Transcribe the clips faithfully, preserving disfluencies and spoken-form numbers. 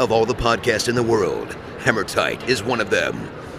Of all the podcasts in the world, Hammer Tight is one of them.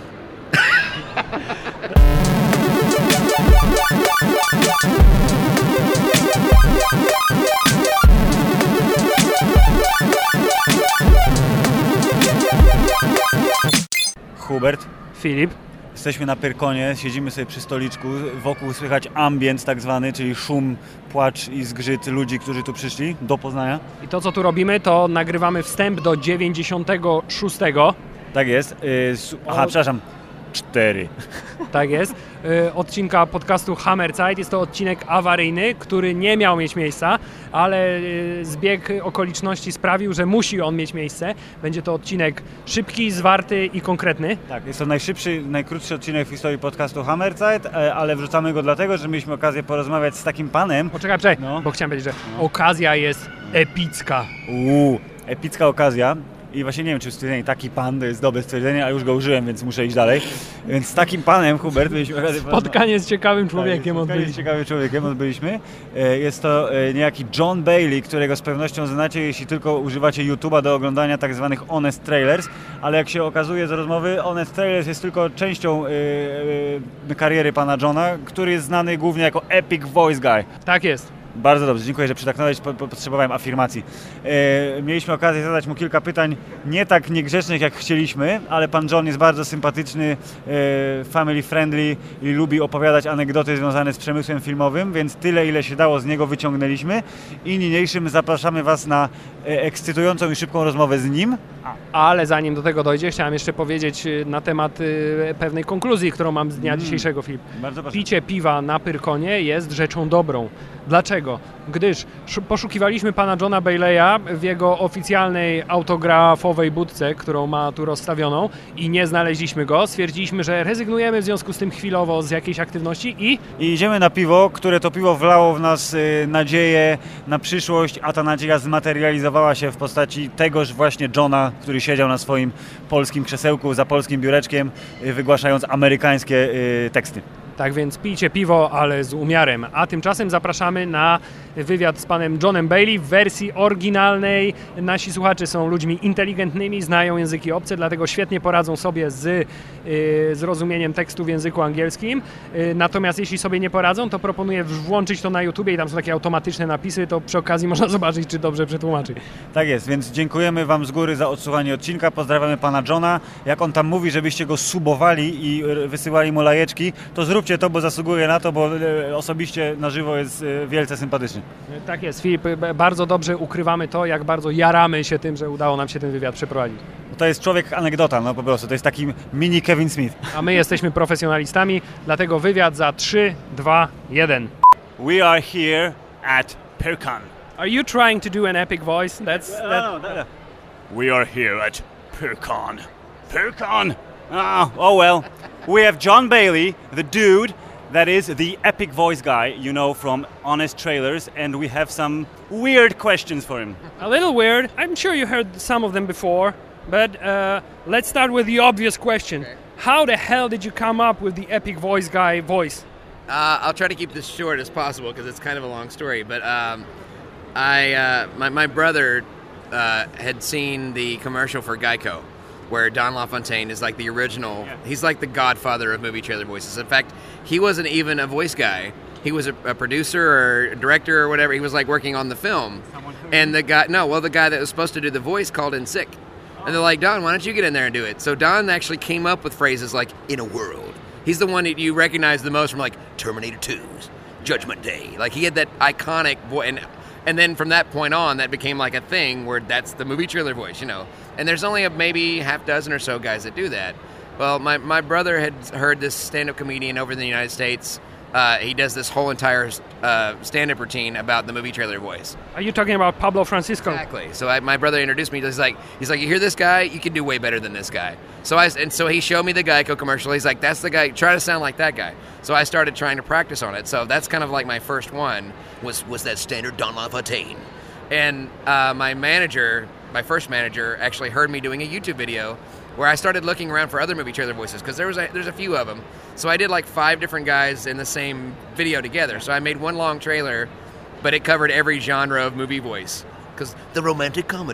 Hubert, Filip. Jesteśmy na Pyrkonie, siedzimy sobie przy stoliczku, wokół słychać ambient tak zwany, czyli szum, płacz i zgrzyt ludzi, którzy tu przyszli do Poznania. I to, co tu robimy, to nagrywamy wstęp do dziewięćdziesiątego szóstego. Tak jest. Yy, su- Aha, o... przepraszam. Cztery. Tak jest. Yy, odcinka podcastu Hammerzeit. Jest to odcinek awaryjny, który nie miał mieć miejsca, ale yy, zbieg okoliczności sprawił, że musi on mieć miejsce. Będzie to odcinek szybki, zwarty i konkretny. Tak, jest to najszybszy, najkrótszy odcinek w historii podcastu Hammerzeit, ale wrzucamy go dlatego, że mieliśmy okazję porozmawiać z takim panem. Poczekaj, poczekaj, no. bo chciałem powiedzieć, że no. okazja jest epicka. Uuu, epicka okazja. I właśnie nie wiem, czy stwierdzenie taki pan to jest dobre stwierdzenie, a już go użyłem, więc muszę iść dalej. Więc z takim panem, Hubert, byliśmy... Spotkanie z ciekawym człowiekiem tak, odbyliśmy. z ciekawym człowiekiem odbyliśmy. Jest to niejaki John Bailey, którego z pewnością znacie, jeśli tylko używacie YouTube'a do oglądania tak zwanych Honest Trailers, ale jak się okazuje z rozmowy, Honest Trailers jest tylko częścią yy, yy, kariery pana Johna, który jest znany głównie jako Epic Voice Guy. Tak jest. Bardzo dobrze, dziękuję, że przytaknąłeś, po, po, potrzebowałem afirmacji. E, mieliśmy okazję zadać mu kilka pytań, nie tak niegrzecznych jak chcieliśmy, ale pan John jest bardzo sympatyczny, e, family friendly i lubi opowiadać anegdoty związane z przemysłem filmowym, więc tyle, ile się dało z niego wyciągnęliśmy i niniejszym zapraszamy Was na e, ekscytującą i szybką rozmowę z nim. Ale zanim do tego dojdzie, chciałem jeszcze powiedzieć na temat y, pewnej konkluzji, którą mam z dnia mm. dzisiejszego, Filip. Bardzo proszę. Picie piwa na Pyrkonie jest rzeczą dobrą. Dlaczego? Gdyż poszukiwaliśmy pana Johna Bailey'a w jego oficjalnej autografowej budce, którą ma tu rozstawioną i nie znaleźliśmy go. Stwierdziliśmy, że rezygnujemy w związku z tym chwilowo z jakiejś aktywności i... I idziemy na piwo, które to piwo wlało w nas y, nadzieję na przyszłość, a ta nadzieja zmaterializowała się w postaci tegoż właśnie Johna, który siedział na swoim polskim krzesełku za polskim biureczkiem, y, wygłaszając amerykańskie y, teksty. Tak więc pijcie piwo, ale z umiarem. A tymczasem zapraszamy na wywiad z panem Johnem Bailey w wersji oryginalnej. Nasi słuchacze są ludźmi inteligentnymi, znają języki obce, dlatego świetnie poradzą sobie z y, zrozumieniem tekstu w języku angielskim. Y, natomiast jeśli sobie nie poradzą, to proponuję włączyć to na YouTubie i tam są takie automatyczne napisy, to przy okazji można zobaczyć, czy dobrze przetłumaczy. Tak jest, więc dziękujemy Wam z góry za odsłuchanie odcinka, pozdrawiamy pana Johna. Jak on tam mówi, żebyście go subowali i wysyłali mu lajeczki, to zróbcie to, bo zasługuje na to, bo osobiście na żywo jest wielce sympatyczny. Tak jest, Filip, bardzo dobrze ukrywamy to, jak bardzo jaramy się tym, że udało nam się ten wywiad przeprowadzić. To jest człowiek anegdota, no po prostu, to jest taki mini Kevin Smith. A my jesteśmy profesjonalistami, dlatego wywiad za trzy, dwa, jeden. We are here at Pyrkon. Are you trying to do an epic voice? That's that... no, no, no. We are here at Pyrkon. Pyrkon! Oh, oh well. We have John Bailey, the dude that is the epic voice guy, you know, from Honest Trailers, and we have some weird questions for him. A little weird. I'm sure you heard some of them before, but uh, let's start with the obvious question. Okay. How the hell did you come up with the epic voice guy voice? Uh, I'll try to keep this short as possible because it's kind of a long story, but um, I, uh, my, my brother uh, had seen the commercial for Geico, where Don LaFontaine is like the original, yeah. He's like the godfather of movie trailer voices. In fact, he wasn't even a voice guy. He was a, a producer or a director or whatever. He was like working on the film. And the guy, no, well, the guy that was supposed to do the voice called in sick. Oh. And they're like, Don, why don't you get in there and do it? So Don actually came up with phrases like, in a world. He's the one that you recognize the most from like Terminator two's Judgment Day. Like he had that iconic voice. And, and then from that point on, that became like a thing where that's the movie trailer voice, you know. And there's only a maybe half dozen or so guys that do that. Well, my, my brother had heard this stand-up comedian over in the United States. Uh, he does this whole entire uh, stand-up routine about the movie trailer voice. Are you talking about Pablo Francisco? Exactly. So I, my brother introduced me. He's like, he's like, you hear this guy? You can do way better than this guy. So I and so he showed me the Geico commercial. He's like, that's the guy. Try to sound like that guy. So I started trying to practice on it. So that's kind of like my first one was was that standard Don LaFontaine. And uh, my manager, my first manager, actually heard me doing a YouTube video where I started looking around for other movie trailer voices because there was a, there's a few of them. So I did like five different guys in the same video together. So I made one long trailer, but it covered every genre of movie voice. Because the romantic comedy,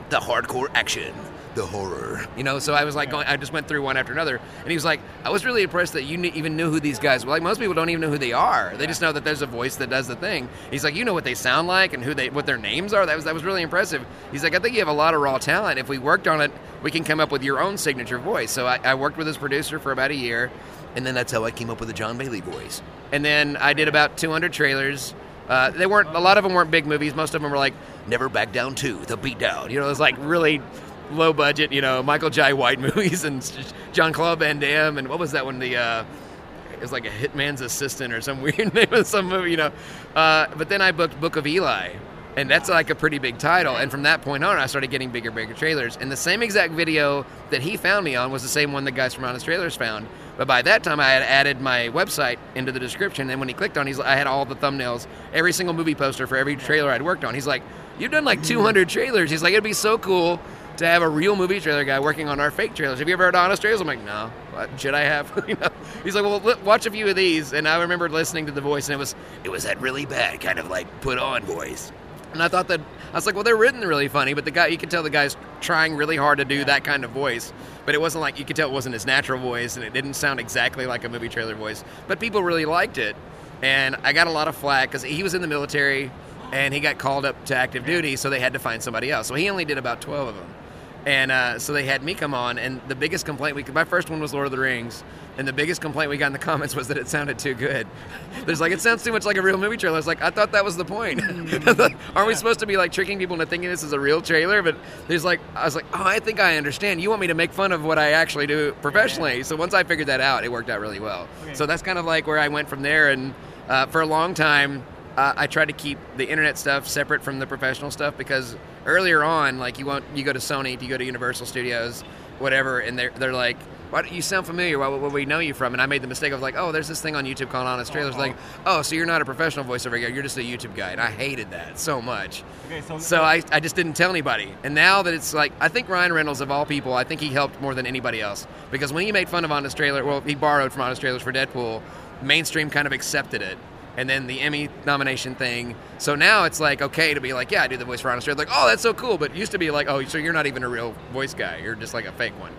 the hardcore action, the horror. You know, so I was like, going, I just went through one after another, and he was like, I was really impressed that you kn- even knew who these guys were. Like, most people don't even know who they are. They just know that there's a voice that does the thing. He's like, you know what they sound like and who they, what their names are. That was that was really impressive. He's like, I think you have a lot of raw talent. If we worked on it, we can come up with your own signature voice. So I, I worked with his producer for about a year, And then that's how I came up with the John Bailey voice. and then I did about two hundred trailers. Uh, they weren't a lot of them weren't big movies. Most of them were like Never Back Down two, The Beatdown. you know, it was like really low budget, you know, Michael Jai White movies and John Claude Van Damme and what was that one? The uh, it was like a hitman's assistant or some weird name of some movie, you know. Uh, but then I booked Book of Eli, and that's like a pretty big title. And from that point on, I started getting bigger, bigger trailers. And the same exact video that he found me on was the same one the guys from Honest Trailers found. But by that time, I had added my website into the description. And when he clicked on, he's I had all the thumbnails, every single movie poster for every trailer I'd worked on. He's like, "You've done like two hundred trailers." He's like, "It'd be so cool to have a real movie trailer guy working on our fake trailers. Have you ever heard of Honest Trailers?" I'm like, "No. What should I have?" you know? He's like, "Well, li- watch a few of these." And I remember listening to the voice, and it was It was that really bad, kind of like put on voice. And I thought that, I was like, well, they're written really funny, but the guy, you could tell the guy's trying really hard to do that kind of voice. But it wasn't like, you could tell it wasn't his natural voice, and it didn't sound exactly like a movie trailer voice. But people really liked it. And I got a lot of flack because he was in the military, and he got called up to active duty, so they had to find somebody else. So he only did about twelve of them. And uh, so they had me come on, and the biggest complaint, we my first one was Lord of the Rings, and the biggest complaint we got in the comments was that it sounded too good. There's like, it sounds too much like a real movie trailer. I was like, I thought that was the point. Aren't we supposed to be like tricking people into thinking this is a real trailer? But there's like, I was like, oh, I think I understand. You want me to make fun of what I actually do professionally. So once I figured that out, it worked out really well. So that's kind of like where I went from there. And uh, for a long time, uh, I tried to keep the internet stuff separate from the professional stuff because earlier on, like you want, you go to Sony, you go to Universal Studios, whatever, and they're they're like, why do you sound familiar? Where well, we know you from? And I made the mistake of like, oh, there's this thing on YouTube called Honest Trailers. Uh-huh. Like, oh, so you're not a professional voiceover guy, you're just a YouTube guy. And I hated that so much. Okay, so, So I, I just didn't tell anybody. And now that it's like, I think Ryan Reynolds, of all people, I think he helped more than anybody else. Because when he made fun of Honest Trailer, well, he borrowed from Honest Trailers for Deadpool, mainstream kind of accepted it. And then the Emmy nomination thing. So now it's like, okay to be like, yeah, I do the voice for Honest Trailer. Like, oh, that's so cool. But it used to be like, oh, so you're not even a real voice guy. You're just like a fake one.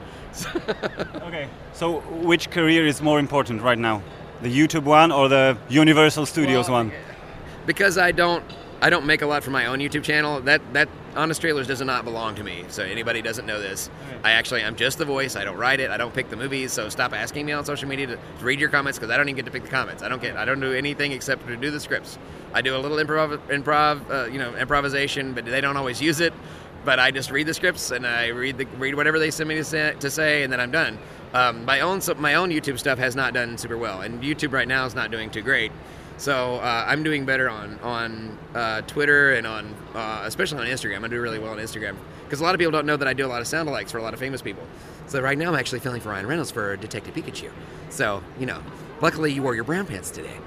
okay. So which career is more important right now? The YouTube one or the Universal Studios Well, one? Because I don't I don't make a lot for my own YouTube channel. That that Honest Trailers does not belong to me. So anybody doesn't know this. Okay. I actually I'm just the voice. I don't write it. I don't pick the movies. So stop asking me on social media to, to read your comments because I don't even get to pick the comments. I don't get I don't do anything except to do the scripts. I do a little improv improv uh, you know improvisation, but they don't always use it. But I just read the scripts and I read the read whatever they send me to say, to say and then I'm done. Um, my own so my own YouTube stuff has not done super well, and YouTube right now is not doing too great. So uh, I'm doing better on on uh, Twitter and on uh, especially on Instagram. I do really well on Instagram because a lot of people don't know that I do a lot of sound alikes for a lot of famous people. So right now I'm actually filling for Ryan Reynolds for Detective Pikachu. So you know, luckily you wore your brown pants today.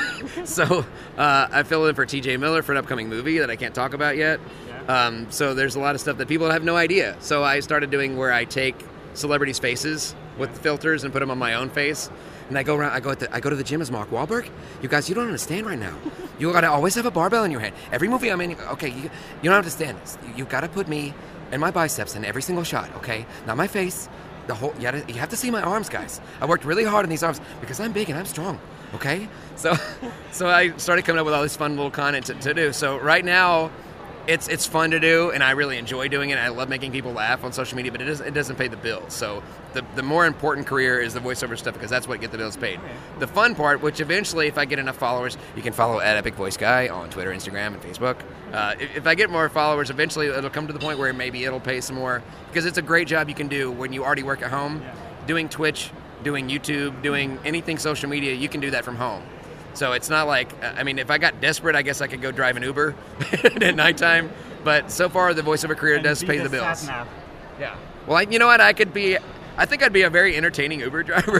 so uh, I filled in for T J Miller for an upcoming movie that I can't talk about yet. Um, so there's a lot of stuff that people have no idea. So I started doing where I take celebrities' faces with filters and put them on my own face. And I go around. I go at the, I go to the gym as Mark Wahlberg. You guys, you don't understand right now. You gotta always have a barbell in your hand. Every movie I'm in, okay, you, you don't understand this. You, you gotta put me and my biceps in every single shot, okay? Not my face. The whole. You, gotta, you have to see my arms, guys. I worked really hard on these arms because I'm big and I'm strong. Okay. So, so I started coming up with all this fun little content to, to do. So right now, it's it's fun to do, and I really enjoy doing it. I love making people laugh on social media, but it doesn't it doesn't pay the bills. So the the more important career is the voiceover stuff because that's what gets the bills paid. The fun part, which eventually, if I get enough followers, you can follow at Epic Voice Guy on Twitter, Instagram, and Facebook. Uh, if, if I get more followers, eventually it'll come to the point where maybe it'll pay some more because it's a great job you can do when you already work at home. Doing Twitch, doing YouTube, doing anything social media, you can do that from home. So it's not like, I mean, if I got desperate, I guess I could go drive an Uber at nighttime. But so far, the voiceover career And does be pay the the bills. sat nav. Yeah. Well, I, you know what? I could be. I think I'd be a very entertaining Uber driver.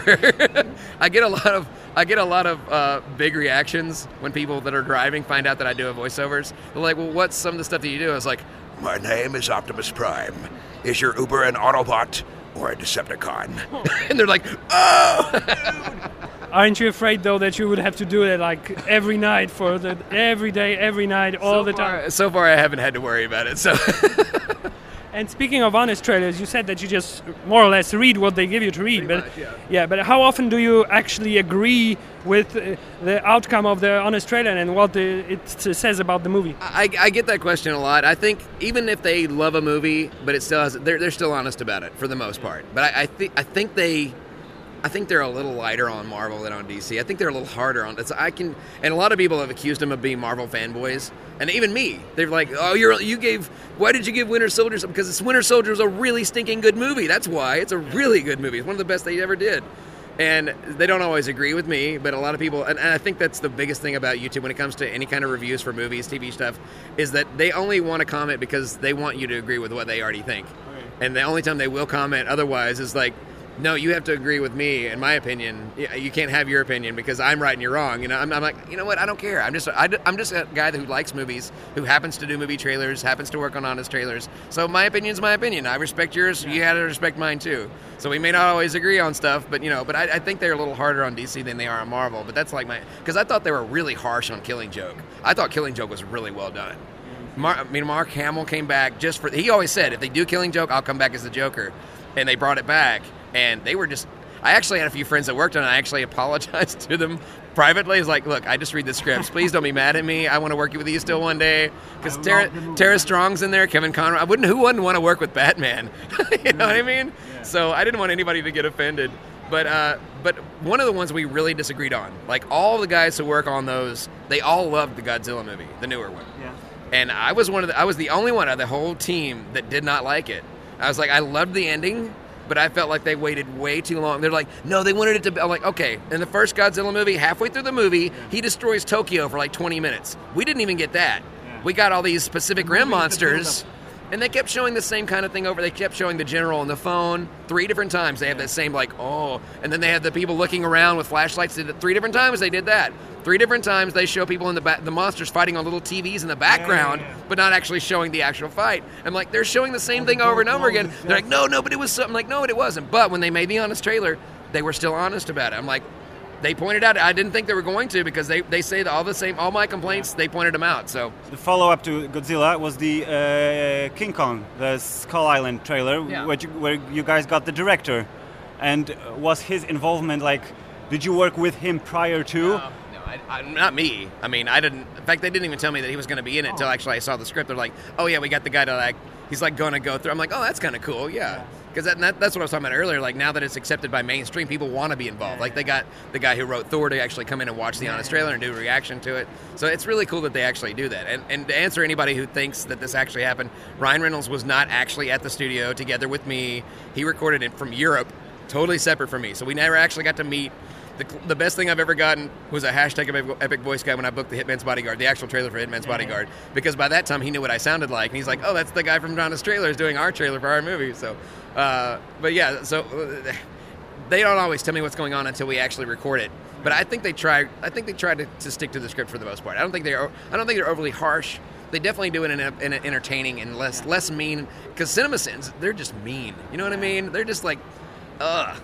I get a lot of. I get a lot of uh, big reactions when people that are driving find out that I do a voiceovers. They're like, "Well, what's some of the stuff that you do?" I was like, My name is Optimus Prime. Is your Uber an Autobot or a Decepticon? and they're like, "Oh." Aren't you afraid though that you would have to do it like every night for the every day, every night, all so the far, time? So far, I haven't had to worry about it. So. And speaking of honest trailers, you said that you just more or less read what they give you to read. Pretty but much, yeah. yeah, but how often do you actually agree with uh, the outcome of the honest trailer and what the, it says about the movie? I, I get that question a lot. I think even if they love a movie, but it still has, they're they're still honest about it for the most part. But I, I think I think they. I think they're a little lighter on Marvel than on D C. I think they're a little harder on. It's I can, and a lot of people have accused them of being Marvel fanboys, and even me. They're like, "Oh, you're you gave. Why did you give Winter Soldier something? Because it's Winter Soldier is a really stinking good movie. That's why. It's a really good movie. It's one of the best they ever did." And they don't always agree with me, but a lot of people, and, and I think that's the biggest thing about YouTube when it comes to any kind of reviews for movies, T V stuff, is that they only want to comment because they want you to agree with what they already think. Okay. And the only time they will comment otherwise is like, no, you have to agree with me, in my opinion. You can't have your opinion because I'm right and you're wrong. You know, I'm, I'm like, you know what? I don't care. I'm just, I, I'm just a guy who likes movies, who happens to do movie trailers, happens to work on honest trailers. So my opinion's my opinion. I respect yours. You have to respect mine too. So we may not always agree on stuff, but you know, but I, I think they're a little harder on D C than they are on Marvel. But that's like my, because I thought they were really harsh on Killing Joke. I thought Killing Joke was really well done. Mar, I mean, Mark Hamill came back just for. He always said, if they do Killing Joke, I'll come back as the Joker, and they brought it back. And they were just, I actually had a few friends that worked on it. I actually apologized to them privately. I was like, look, I just read the scripts. Please don't be mad at me. I want to work with you still one day. Because Tara, Tara Strong's in there, Kevin Conroy. I wouldn't, who wouldn't want to work with Batman? You know what I mean? Yeah. So I didn't want anybody to get offended. But uh, but one of the ones we really disagreed on, like all the guys who work on those, they all loved the Godzilla movie, the newer one. Yeah. And I was one of the, I was the only one out of the whole team that did not like it. I was like, I loved the ending, but I felt like they waited way too long. They're like, no, they wanted it to be. I'm like, okay, in the first Godzilla movie, halfway through the movie, yeah. he destroys Tokyo for like twenty minutes. We didn't even get that. Yeah. We got all these Pacific Rim monsters, and they kept showing the same kind of thing over. They kept showing the general on the phone three different times. They have that same, like, oh, and then they had the people looking around with flashlights. Did it three different times they did that. Three different times they show people in the back, the monsters fighting on little T Vs in the background, yeah, yeah, yeah. but not actually showing the actual fight. I'm like, they're showing the same oh, thing over and over again. They're like, no, no, but it was something. Like, no, it wasn't. But when they made the honest trailer, they were still honest about it. I'm like, they pointed out. I didn't think they were going to because they, they say that all the same, all my complaints, they pointed them out. So the follow-up to Godzilla was the uh, King Kong, the Skull Island trailer, yeah. where, you, where you guys got the director, and was his involvement like? Did you work with him prior to? No. I, I, not me. I mean, I didn't. In fact, they didn't even tell me that he was going to be in it until actually I saw the script. They're like, "Oh yeah, we got the guy to like." He's like going to go through. I'm like, "Oh, that's kind of cool, yeah." Because that, that, that's what I was talking about earlier. Like now that it's accepted by mainstream, people want to be involved. Like they got the guy who wrote Thor to actually come in and watch the honest trailer and do a reaction to it. So it's really cool that they actually do that. And and to answer anybody who thinks that this actually happened, Ryan Reynolds was not actually at the studio together with me. He recorded it from Europe, totally separate from me. So we never actually got to meet. The, the best thing I've ever gotten was a hashtag Epic Voice guy when I booked the Hitman's Bodyguard, the actual trailer for Hitman's Bodyguard, because by that time he knew what I sounded like, and he's like, oh, that's the guy from Donna's Trailers doing our trailer for our movie. So, uh, but yeah, so uh, they don't always tell me what's going on until we actually record it. But I think they try. I think they try to, to stick to the script for the most part. I don't think they're. I don't think they're overly harsh. They definitely do it in, a, in an entertaining and less less mean. Because CinemaSins, they're just mean. You know what I mean? They're just like, ugh.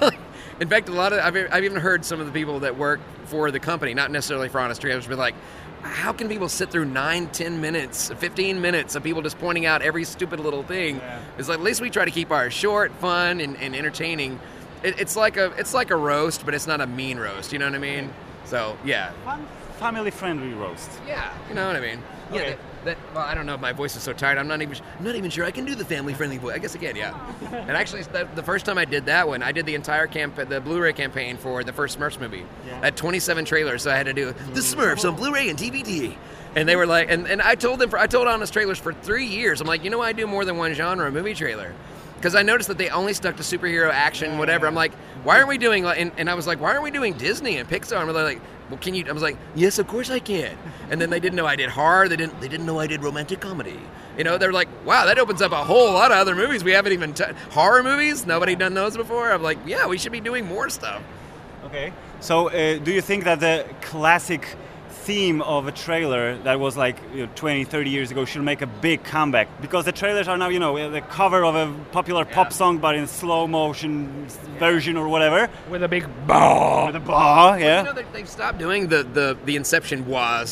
In fact, a lot of I've, I've even heard some of the people that work for the company, not necessarily for Honest Trailers, be like, how can people sit through nine, ten minutes, fifteen minutes of people just pointing out every stupid little thing? Yeah. It's like, at least we try to keep ours short, fun, and, and entertaining. It, it's like a it's like a roast, but it's not a mean roast. You know what I mean? So yeah, fun, family-friendly roast. Yeah, you know what I mean. Yeah. Okay. That, that, well, I don't know. My voice is so tired. I'm not even. I'm not even sure I can do the family-friendly voice. I guess I can. Yeah. And actually, the first time I did that one, I did the entire camp, the Blu-ray campaign for the first Smurfs movie. Yeah. I had twenty-seven trailers, so I had to do the Smurfs on Blu-ray and D V D. And they were like, and, and I told them, for, I told Honest Trailers for three years. I'm like, you know, I do more than one genre movie trailer. Because I noticed that they only stuck to superhero action, whatever. I'm like, why aren't we doing, and, and I was like, why aren't we doing Disney and Pixar? And they're like, well, can you, I was like, yes, of course I can. And then they didn't know I did horror. They didn't, they didn't know I did romantic comedy. You know, they're like, wow, that opens up a whole lot of other movies we haven't even, t- horror movies? Nobody done those before? I'm like, yeah, we should be doing more stuff. Okay. So uh, do you think that the classic theme of a trailer that was like you know, twenty, thirty years ago should make a big comeback? Because the trailers are now, you know, the cover of a popular yeah. pop song, but in slow motion yeah. version or whatever. With a big bah. With a bah, yeah. Well, you know, they, they've stopped doing the, the, the Inception wahs. Yeah.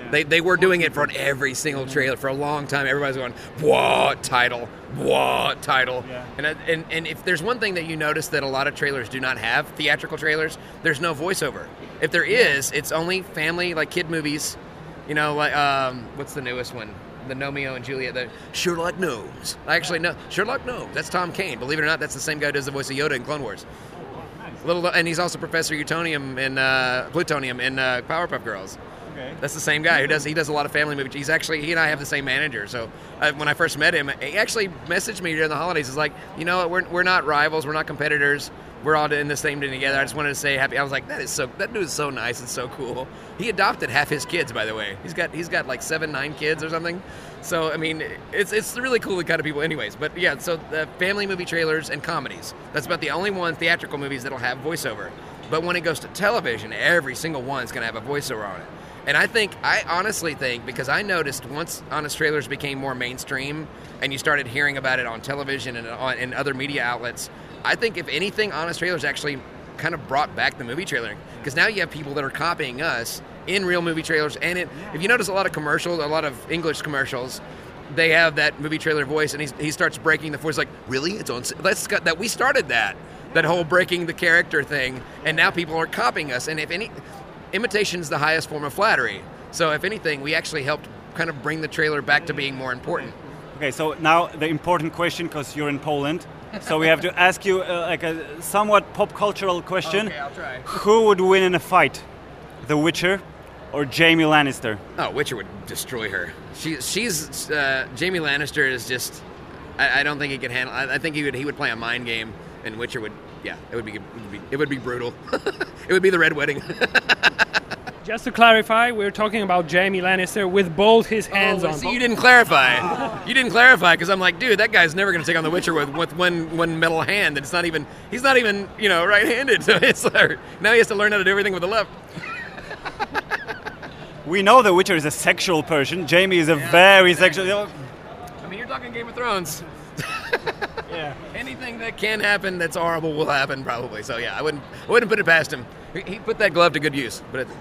They they were doing it for every single trailer for a long time. Everybody's going, what title? What title? Yeah. And, and and if there's one thing that you notice that a lot of trailers do not have, theatrical trailers, there's no voiceover. If there is, it's only family, like kid movies. You know, like um, what's the newest one? The Romeo and Juliet, the Sherlock Gnomes. Actually, no, Sherlock Gnomes. That's Tom Kane. Believe it or not, that's the same guy who does the voice of Yoda in Clone Wars. Little, and he's also Professor Utonium in uh, Plutonium in uh, Powerpuff Girls. Okay. That's the same guy who does. He does a lot of family movies. He's actually he and I have the same manager. So uh, when I first met him, he actually messaged me during the holidays. He's like, you know what, we're we're not rivals. We're not competitors. We're all in the same thing together. I just wanted to say happy. I was like, that is so. That dude is so nice and so cool. He adopted half his kids, by the way. He's got he's got like seven, nine kids or something. So I mean, it's it's really cool, the kind of people, anyways. But yeah, so the family movie trailers and comedies. That's about the only one theatrical movies that'll have voiceover. But when it goes to television, every single one's going to have a voiceover on it. And I think, I honestly think, because I noticed once Honest Trailers became more mainstream and you started hearing about it on television and on and other media outlets, I think if anything, Honest Trailers actually kind of brought back the movie trailer. Because now you have people that are copying us in real movie trailers. And it, if you notice a lot of commercials, a lot of English commercials, they have that movie trailer voice, and he's, he starts breaking the voice like, really? It's on. Let's got that. We started that. That whole breaking the character thing, and now people are copying us. And if any, imitation is the highest form of flattery. So if anything, we actually helped kind of bring the trailer back to being more important. Okay, so now the important question, because you're in Poland, so we have to ask you uh, like a somewhat pop cultural question. Okay, I'll try. Who would win in a fight, The Witcher or Jaime Lannister? Oh, Witcher would destroy her. She, she's uh, Jaime Lannister is just. I, I don't think he could handle. I, I think he would. He would play a mind game. And Witcher would, yeah, it would be, it would be, it would be brutal. It would be the Red Wedding. Just to clarify, we're talking about Jaime Lannister with both his hands oh, on. See, you didn't clarify. You didn't clarify because I'm like, dude, that guy's never going to take on the Witcher with, with one one metal hand. And it's not even. He's not even, you know, right-handed. So it's like, now he has to learn how to do everything with the left. We know The Witcher is a sexual person. Jaime is a yeah, very exactly. sexual. I mean, you're talking Game of Thrones. Yeah. Anything that can happen that's horrible will happen probably. So yeah, I wouldn't I wouldn't put it past him. He, he put that glove to good use. But it,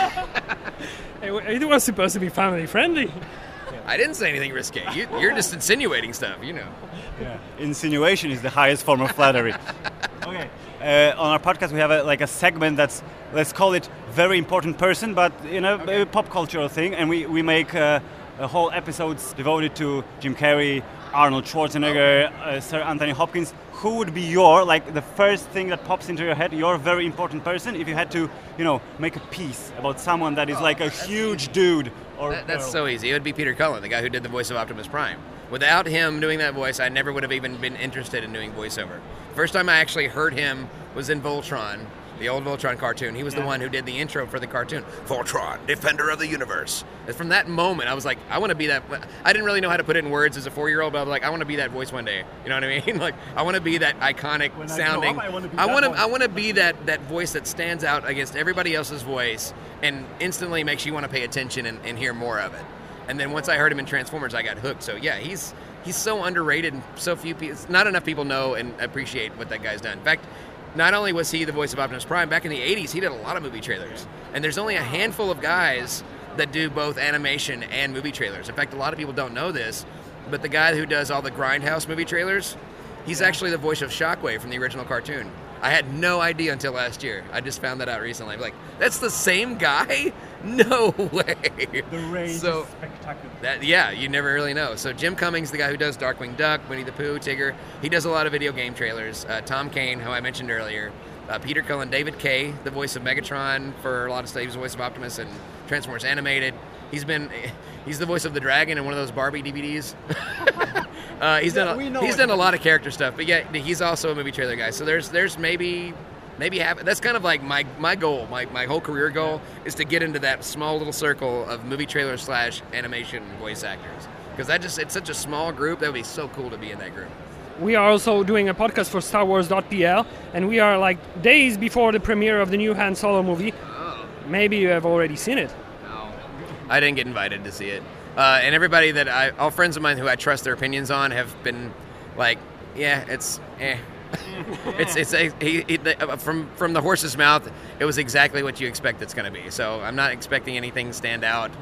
it was supposed to be family friendly. I didn't say anything risque. You, you're just insinuating stuff, you know. Yeah. Insinuation is the highest form of flattery. Okay. Uh, on our podcast, we have a, like a segment that's, let's call it very important person, but you know, okay. a pop cultural thing, and we we make uh, a whole episodes devoted to Jim Carrey, Arnold Schwarzenegger, uh, Sir Anthony Hopkins. Who would be your, like, the first thing that pops into your head, your very important person, if you had to, you know, make a piece about someone that is oh, like a huge easy. dude? Or that, That's girl. so easy. It would be Peter Cullen, the guy who did the voice of Optimus Prime. Without him doing that voice, I never would have even been interested in doing voiceover. First time I actually heard him was in Voltron, the old Voltron cartoon. He was yeah. the one who did the intro for the cartoon. Voltron, defender of the universe. And from that moment, I was like, I want to be that. I didn't really know how to put it in words as a four-year-old, but I was like, I want to be that voice one day. You know what I mean? Like, I want to be that iconic when sounding. I, up, I want to. Be I want to. voice. I want to be that that voice that stands out against everybody else's voice and instantly makes you want to pay attention and, and hear more of it. And then once I heard him in Transformers, I got hooked. So yeah, he's he's so underrated, and so few people, not enough people know and appreciate what that guy's done. In fact, not only was he the voice of Optimus Prime, back in the eighties, he did a lot of movie trailers. And there's only a handful of guys that do both animation and movie trailers. In fact, a lot of people don't know this, but the guy who does all the Grindhouse movie trailers, he's yeah. actually the voice of Shockwave from the original cartoon. I had no idea until last year. I just found that out recently. I'm like, that's the same guy? No way. The range so, is spectacular. That, yeah, you never really know. So Jim Cummings, the guy who does Darkwing Duck, Winnie the Pooh, Tigger, he does a lot of video game trailers. Uh, Tom Kane, who I mentioned earlier. Uh, Peter Cullen, David Kaye, the voice of Megatron for a lot of stuff. He was the voice of Optimus and Transformers Animated. He's been, he's the voice of the dragon in one of those Barbie D V Ds. uh, he's yeah, done, a, he's done a lot of character stuff, but yeah, he's also a movie trailer guy. So there's, there's maybe, maybe half. That's kind of like my, my goal, my, my whole career goal is to get into that small little circle of movie trailer slash animation voice actors. Because that just, it's such a small group. That would be so cool to be in that group. We are also doing a podcast for Star Wars dot P L, and we are like days before the premiere of the new Han Solo movie. Oh. Maybe you have already seen it. No. I didn't get invited to see it. Uh, and everybody that I, all friends of mine who I trust their opinions on have been like, yeah, it's, eh. it's, it's, a, he, he, from, from the horse's mouth, it was exactly what you expect it's going to be. So I'm not expecting anything stand out.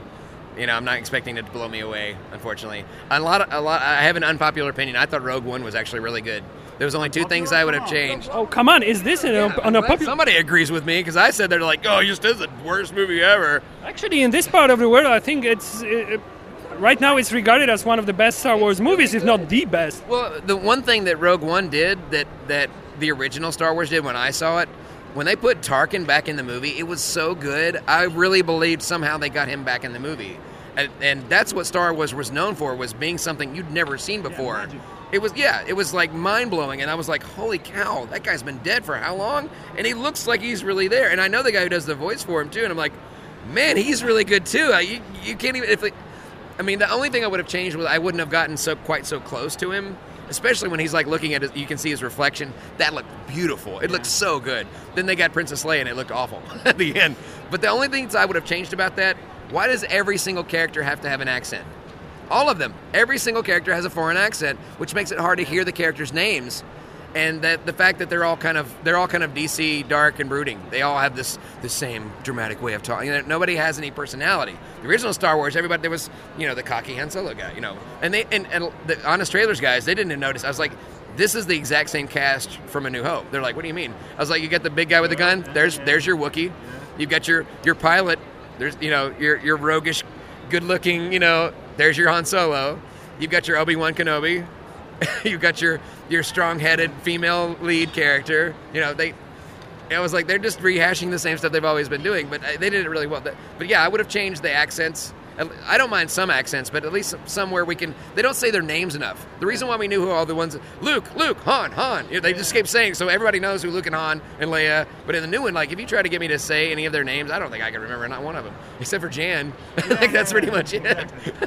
You know, I'm not expecting it to blow me away, unfortunately. A lot, of, a lot. I have an unpopular opinion. I thought Rogue One was actually really good. There was only two things I would have changed. Oh, come on. Is this an, Yeah, an I'm glad unpopular... somebody agrees with me, because I said they're like, oh, it just is the worst movie ever. Actually, in this part of the world, I think it's... Uh, right now, it's regarded as one of the best Star Wars movies, if not the best. Well, the one thing that Rogue One did that, that the original Star Wars did when I saw it, when they put Tarkin back in the movie, it was so good. I really believed somehow they got him back in the movie. And, and that's what Star Wars was known for, was being something you'd never seen before. Yeah, it was, yeah, it was like mind-blowing, and I was like, holy cow, that guy's been dead for how long? And he looks like he's really there. And I know the guy who does the voice for him, too, and I'm like, man, he's really good, too. I, you, you can't even, if it, I mean, the only thing I would have changed was I wouldn't have gotten so quite so close to him, especially when he's like looking at it, you can see his reflection. That looked beautiful. It looked so good. Then they got Princess Leia, and it looked awful at the end. But the only things I would have changed about that, why does every single character have to have an accent? All of them. Every single character has a foreign accent, which makes it hard to hear the characters' names. And that the fact that they're all kind of they're all kind of D C, dark and brooding. They all have this the same dramatic way of talking. You know, nobody has any personality. The original Star Wars, everybody there was, you know, the cocky Han Solo guy, you know, and they and, and the Honest Trailers guys, they didn't even notice. I was like, this is the exact same cast from A New Hope. They're like, what do you mean? I was like, you got the big guy with the gun. There's there's your Wookiee. You've got your your pilot. There's you know your your roguish, good looking. You know, there's your Han Solo. You've got your Obi-Wan Kenobi. You've got your your strong-headed female lead character. You know, they. I was like, they're just rehashing the same stuff they've always been doing, but they did it really well. But yeah, I would have changed the accents. I don't mind some accents, but at least somewhere we can. They don't say their names enough. The reason why we knew who all the ones, Luke, Luke, Han, Han. You know, they just keep saying, so everybody knows who Luke and Han and Leia. But in the new one, like if you try to get me to say any of their names, I don't think I can remember not one of them, except for Jan. I think that's pretty much it.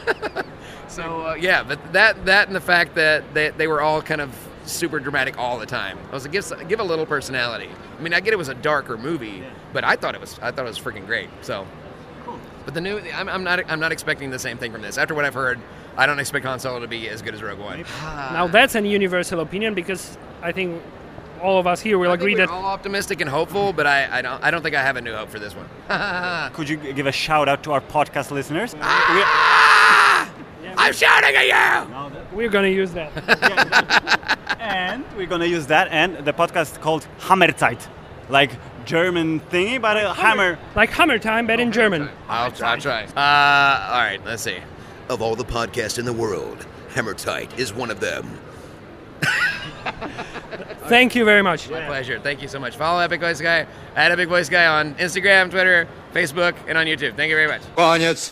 So uh, yeah, but that that and the fact that they, they were all kind of super dramatic all the time. I was like, give give a little personality. I mean, I get it was a darker movie, but I thought it was I thought it was freaking great. So. But the new, I'm, I'm not, I'm not expecting the same thing from this. After what I've heard, I don't expect Han Solo to be as good as Rogue One. Now that's an universal opinion because I think all of us here will I agree think we're that all optimistic and hopeful, but I, I don't, I don't think I have a new hope for this one. Could you give a shout out to our podcast listeners? Ah! I'm shouting at you. we're going to use that. And we're gonna use that and the podcast called Hammerzeit, like German thingy, but a hammer. Like Hammer Time, but in German. I'll, I'll try. Uh, all right, let's see. Of all the podcasts in the world, Hammer Tight is one of them. Thank you very much. My pleasure. Thank you so much. Follow Epic Voice Guy at Epic Voice Guy on Instagram, Twitter, Facebook, and on YouTube. Thank you very much. Конец.